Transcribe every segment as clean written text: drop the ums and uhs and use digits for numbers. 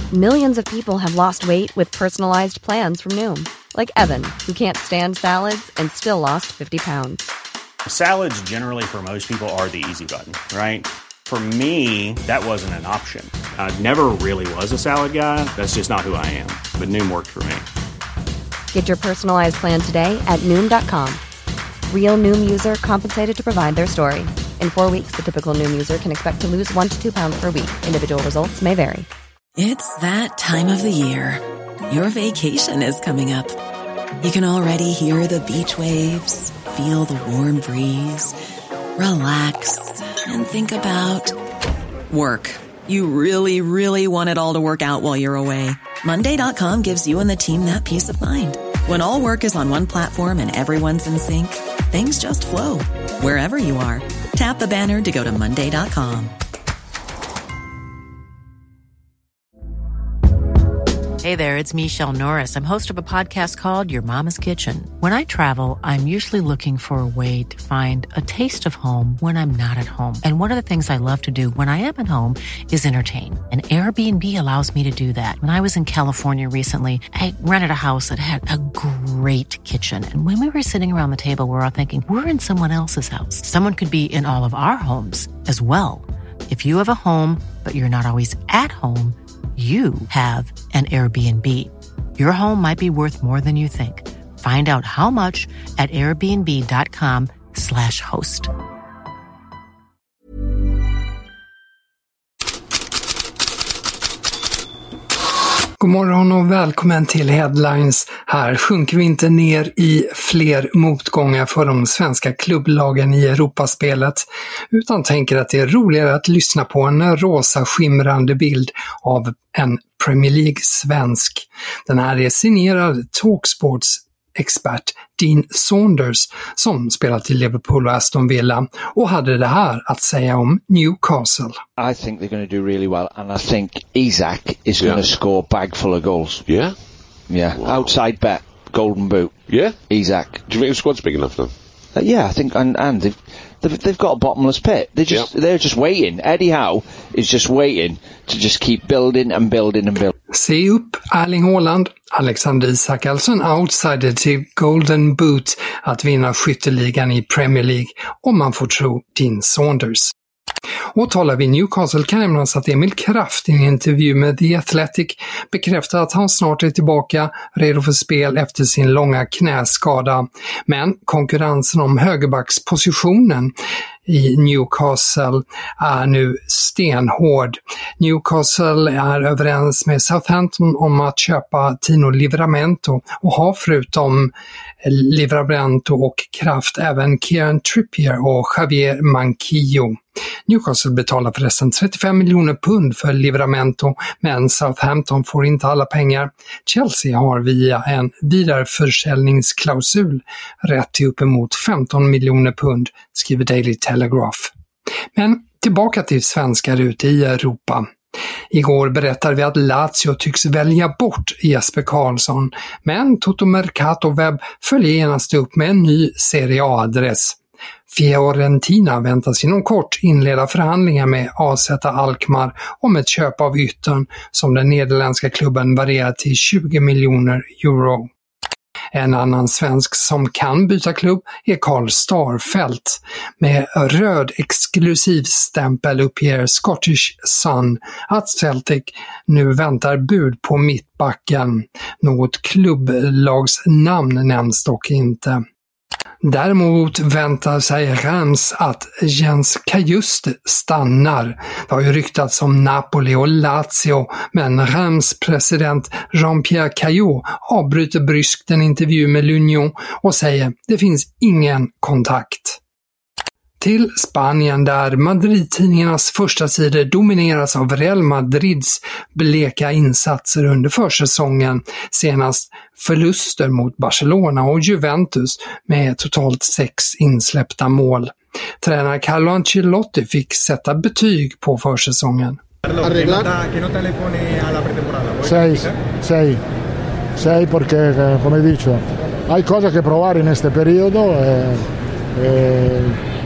Millions of people have lost weight with personalized plans from Noom. Like Evan, who can't stand salads and still lost 50 pounds. Salads generally for most people are the easy button, right? For me, that wasn't an option. I never really was a salad guy. That's just not who I am. But Noom worked for me. Get your personalized plan today at Noom.com. Real Noom user compensated to provide their story. In 4 weeks, the typical Noom user can expect to lose 1 to 2 pounds per week. Individual results may vary. It's that time of the year. Your vacation is coming up. You can already hear the beach waves, feel the warm breeze, relax, and think about work. You really, really want it all to work out while you're away. Monday.com gives you and the team that peace of mind. When all work is on one platform and everyone's in sync, things just flow. Wherever you are, tap the banner to go to Monday.com. Hey there, it's Michelle Norris. I'm host of a podcast called Your Mama's Kitchen. When I travel, I'm usually looking for a way to find a taste of home when I'm not at home. And one of the things I love to do when I am at home is entertain. And Airbnb allows me to do that. When I was in California recently, I rented a house that had a great kitchen. And when we were sitting around the table, we were all thinking, we're in someone else's house. Someone could be in all of our homes as well. If you have a home, but you're not always at home, you have an Airbnb. Your home might be worth more than you think. Find out how much at airbnb.com/host. God morgon och välkommen till Headlines. Här sjunker vi inte ner i fler motgångar för de svenska klubblagen i Europaspelet, utan tänker att det är roligare att lyssna på en rosa skimrande bild av en Premier League-svensk. Den här är signerad Talksports expert Dean Saunders som spelat i Liverpool och Aston Villa och hade det här att säga om Newcastle. I think they're going to do really well, and I think Isak is going to score a bag full of goals. Yeah? Yeah. Wow. Outside bet, golden boot. Yeah? Isak. Do you think the squad's big enough though? Yeah, I think, and they've got a bottomless pit. They're just waiting. Eddie Howe is just waiting to just keep building and building and building. Se upp Erling Haaland, Alexander Isak, alltså en outsider till Golden Boot att vinna skytteligan i Premier League om man får tro Dean Saunders. Och talar vi Newcastle kan nämnas att Emil Kraft i en intervju med The Athletic bekräftar att han snart är tillbaka redo för spel efter sin långa knäskada. Men konkurrensen om högerbackspositionen i Newcastle är nu stenhård. Newcastle är överens med Southampton om att köpa Tino Livramento och har förutom Livramento och Kraft även Kieran Trippier och Javier Manquillo. Newcastle betalar förresten 35 miljoner pund för Livramento, men Southampton får inte alla pengar. Chelsea har via en vidareförsäljningsklausul rätt till uppemot 15 miljoner pund, skriver Daily Telegraph. Men tillbaka till svenskar ute i Europa. Igår berättade vi att Lazio tycks välja bort Jesper Karlsson, men Toto Mercato Webb följer genast upp med en ny Serie A-adress. Fiorentina väntas inom kort inleda förhandlingar med AZ Alkmaar om ett köp av yttern som den nederländska klubben varierar till 20 miljoner euro. En annan svensk som kan byta klubb är Carl Starfelt. Med röd exklusiv stämpel uppger Scottish Sun att Celtic nu väntar bud på mittbacken. Något klubblagsnamn nämns dock inte. Däremot väntar sig Reims att Jens Cajuste stannar. Det har ju ryktats om Napoli och Lazio, men Reims president Jean-Pierre Caillot avbryter bryskt en intervju med L'Union och säger det finns ingen kontakt. Till Spanien där Madrid-tidningarnas första sidor domineras av Real Madrids bleka insatser under försäsongen, senast förluster mot Barcelona och Juventus med totalt 6 insläppta mål. Tränare Carlo Ancelotti fick sätta betyg på försäsongen. 6 porque, come dicho, hay cosas que provar en este periodo.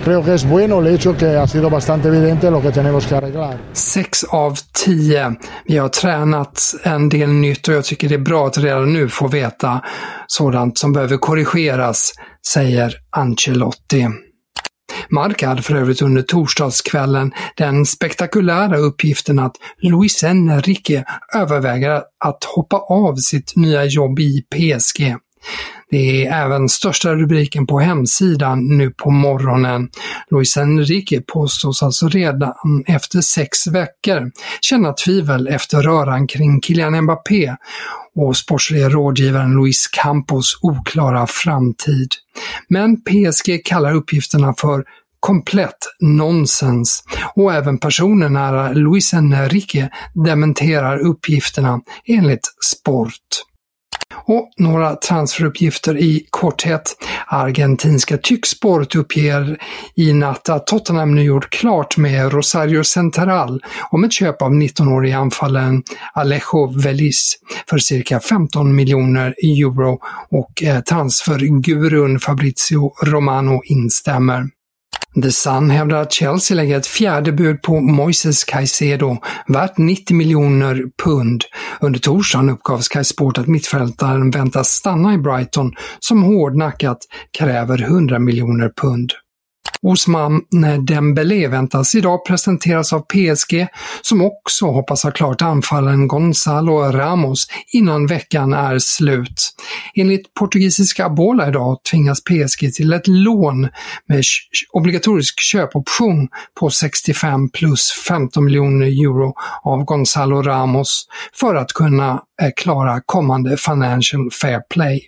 creo que es bueno el hecho que ha sido bastante evidente lo que tenemos que arreglar. 6 av 10. Vi har tränat en del nytt och jag tycker det är bra att redan nu få veta sådant som behöver korrigeras, säger Ancelotti. Marca hade för övrigt under torsdagskvällen den spektakulära uppgiften att Luis Enrique överväger att hoppa av sitt nya jobb i PSG. Det är även största rubriken på hemsidan nu på morgonen. Luis Enrique påstås alltså redan efter 6 veckor känna tvivel efter röran kring Kylian Mbappé och sportsliga rådgivaren Luis Campos oklara framtid. Men PSG kallar uppgifterna för komplett nonsens och även personen nära Luis Enrique dementerar uppgifterna enligt Sport. Och några transferuppgifter i korthet. Argentinska Tycksport uppger i natt att Tottenham nu gjort klart med Rosario Central om ett köp av 19-årig anfallaren Alejo Veliz för cirka 15 miljoner euro och transfergurun Fabrizio Romano instämmer. The Sun hävdar att Chelsea lägger ett fjärde bud på Moises Caicedo, värt 90 miljoner pund. Under torsdagen uppgav Sky Sport att mittfältaren väntas stanna i Brighton som hårdnackat kräver 100 miljoner pund. Ousmane Dembélé väntas idag presenteras av PSG som också hoppas ha klart anfallaren Gonzalo Ramos innan veckan är slut. Enligt portugisiska Bola idag tvingas PSG till ett lån med obligatorisk köpoption på 65 plus 15 miljoner euro av Gonzalo Ramos för att kunna klara kommande Financial Fair Play.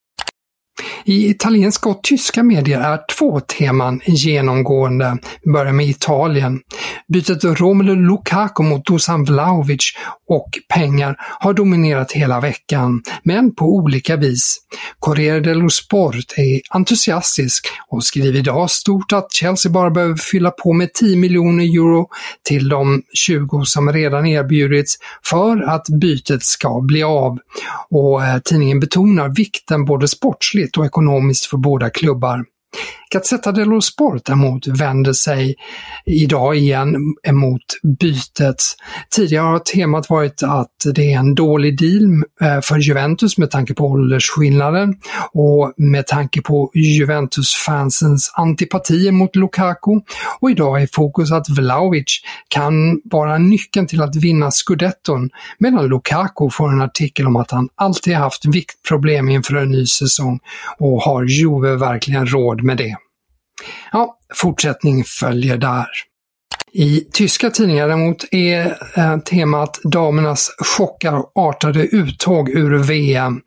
I italienska och tyska medier är 2 teman genomgående. Vi börjar med Italien. Bytet Romelu Lukaku mot Dusan Vlahovic och pengar har dominerat hela veckan, men på olika vis. Corriere dello Sport är entusiastisk och skriver idag stort att Chelsea bara behöver fylla på med 10 miljoner euro till de 20 som redan erbjudits för att bytet ska bli av. Och tidningen betonar vikten både sportsligt och ekonomiskt för båda klubbar. Gazzetta dello Sport däremot vänder sig idag igen emot bytet. Tidigare har temat varit att det är en dålig deal för Juventus med tanke på åldersskillnaden och med tanke på Juventus-fansens antipatier mot Lukaku. Och idag är fokus att Vlahovic kan vara nyckeln till att vinna Scudetton, medan Lukaku får en artikel om att han alltid haft viktproblem inför en ny säsong och har Juve verkligen råd med det. Ja, fortsättning följer där. I tyska tidningar däremot är temat damernas chockartade uttåg ur VM.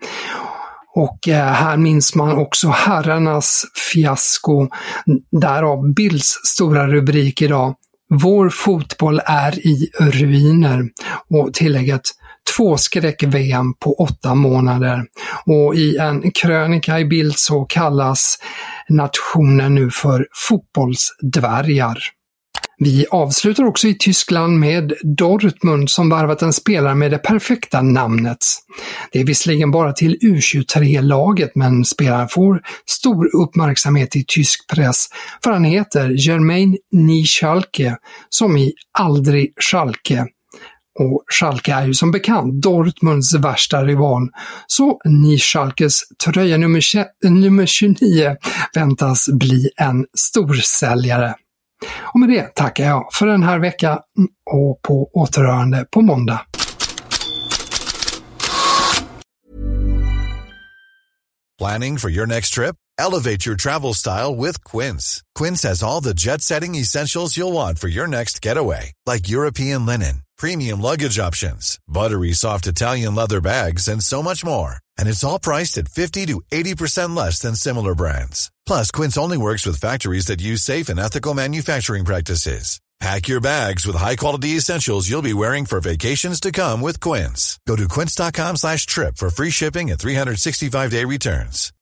Och här minns man också herrarnas fiasko. Därav Bilds stora rubrik idag. Vår fotboll är i ruiner. Och tillägget 2 skräck-VM på 8 månader. Och i en krönika i Bild så kallas nationen nu för fotbollsdvärgar. Vi avslutar också i Tyskland med Dortmund som värvat en spelare med det perfekta namnet. Det är visserligen bara till U23-laget, men spelaren får stor uppmärksamhet i tysk press för han heter Jermaine Nieschalke, som i aldrig Schalke. Och Schalke är ju som bekant Dortmunds värsta rival, så Nieschalkes tröja nummer 29 väntas bli en storsäljare. Och med det tackar jag för den här veckan och på återhörande på måndag. Planning for your next trip? Elevate your travel style with Quince. Quince has all the jet-setting essentials you'll want for your next getaway, like European linen, premium luggage options, buttery soft Italian leather bags, and so much more. And it's all priced at 50 to 80% less than similar brands. Plus, Quince only works with factories that use safe and ethical manufacturing practices. Pack your bags with high-quality essentials you'll be wearing for vacations to come with Quince. Go to quince.com/trip for free shipping and 365-day returns.